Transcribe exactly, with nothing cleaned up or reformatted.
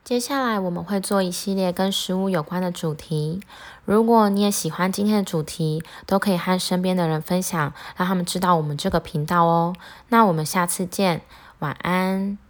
接下来我们会做一系列跟食物有关的主题。如果你也喜欢今天的主题，都可以和身边的人分享，让他们知道我们这个频道哦。那我们下次见，晚安。